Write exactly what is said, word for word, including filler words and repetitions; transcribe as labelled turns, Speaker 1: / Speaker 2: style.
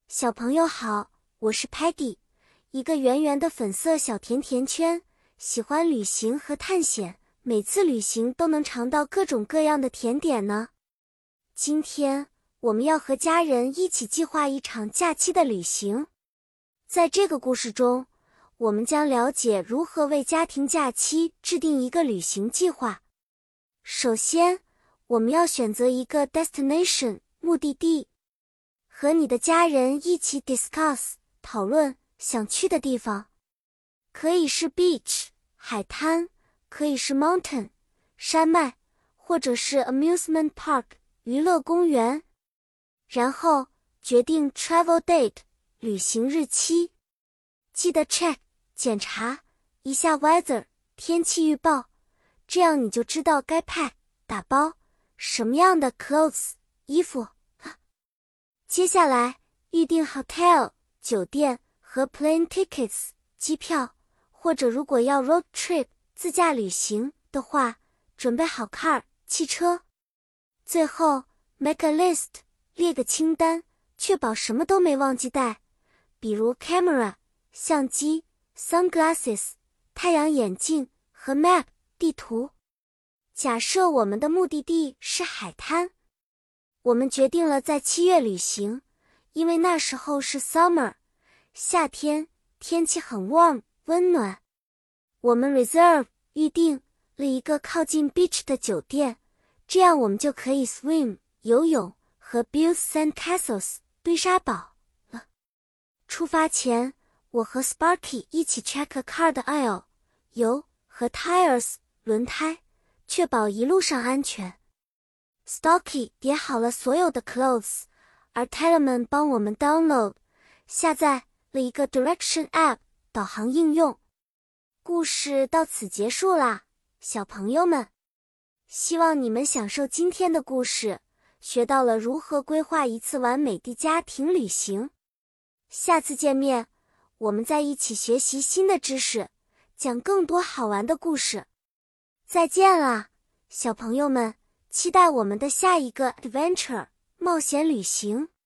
Speaker 1: 小朋友好，我是 Peggy， 一个圆圆的粉色小甜甜圈，喜欢旅行和探险，每次旅行都能尝到各种各样的甜点呢。今天我们要和家人一起计划一场假期的旅行。在这个故事中，我们将了解如何为家庭假期制定一个旅行计划。首先，我们要选择一个 destination 目的地，和你的家人一起 discuss 讨论想去的地方，可以是 beach 海滩，可以是 mountain 山脉，或者是 amusement park 娱乐公园。然后决定 travel date 旅行日期，记得 check 检查一下 weather 天气预报，这样你就知道该 pack 打包什么样的 clothes 衣服。接下来预订 hotel 酒店和 plane tickets 机票，或者如果要 road trip 自驾旅行的话，准备好 car 汽车。最后 make a list 列个清单，确保什么都没忘记带，比如 camera 相机、sunglasses 太阳眼镜和 map 地图。假设我们的目的地是海滩，我们决定了在七月旅行，因为那时候是 summer 夏天，天气很 warm 温暖。我们 reserve 预定了一个靠近 beach 的酒店，这样我们就可以 swim 游泳和 build sand castles 堆沙堡了。出发前，我和 Sparky 一起 check a car 的 oil 油和 tires 轮胎，确保一路上安全。Stocky 叠好了所有的 clothes， 而 Telemann 帮我们 download 下载了一个 direction app 导航应用。故事到此结束啦，小朋友们，希望你们享受今天的故事，学到了如何规划一次完美的家庭旅行。下次见面，我们再一起学习新的知识，讲更多好玩的故事。再见啦，小朋友们，期待我们的下一个 adventure 冒险旅行。